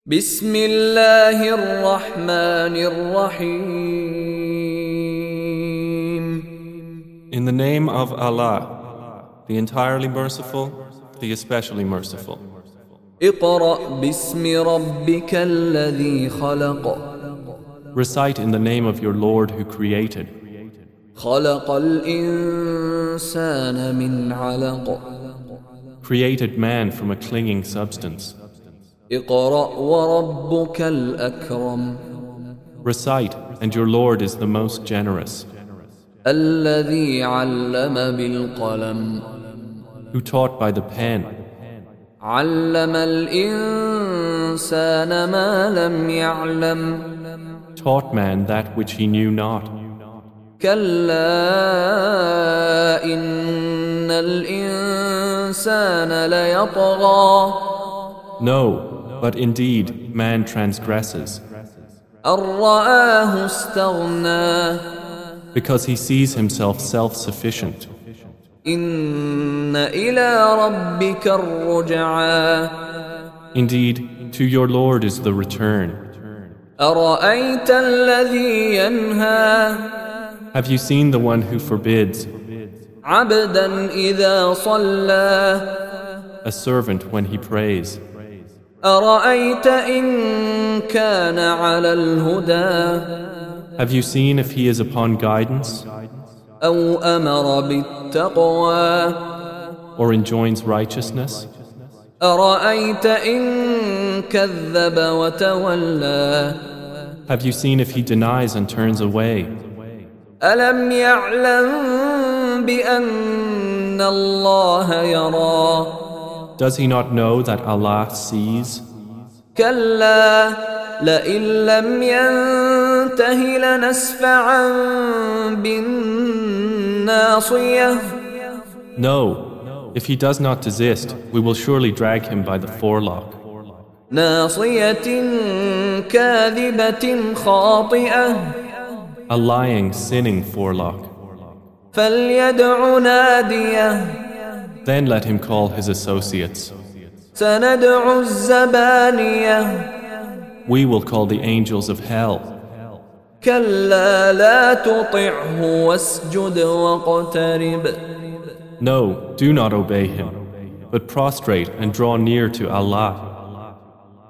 بسم الله الرحمن الرحيم. In the name of Allah, the entirely merciful, the especially merciful. اقرأ باسم ربك الذي خلق. Recite in the name of your Lord who created. خلق الإنسان من علق. Created man from a clinging substance. اقرأ وربك الأكرم. Recite, and your Lord is the most generous. الذي علم بالقلم. Who taught by the pen. علم الإنسان ما لم يعلم. Taught man that which he knew not. كلا إن الإنسان ليطغى. No, but indeed man transgresses. أن رآه استغنى. Because he sees himself self-sufficient. إن إلى ربك الرجعى. Indeed, to your Lord is the return. أرأيت الذي ينهى. Have you seen the one who forbids? عبدا إذا صلى. A servant when he prays. أرأيت إن كان على الهدى. Have you seen if he is upon guidance? أو أمر بالتقوى. Or enjoins righteousness? أرأيت إن كذب وتولى. Have you seen if he denies and turns away? ألم يعلم بأن الله يرى. Does he not know that Allah sees? كلا لئن لم ينته لنسفعا بالناصية. No, if he does not desist, we will surely drag him by the forelock. ناصية كاذبة خاطئة. A lying, sinning forelock. فليدع ناديه. Then let him call his associates. سندع الزبانية. We will call the angels of hell. كلا لا تطعه واسجد واقترب. No, do not obey him, but prostrate and draw near to Allah.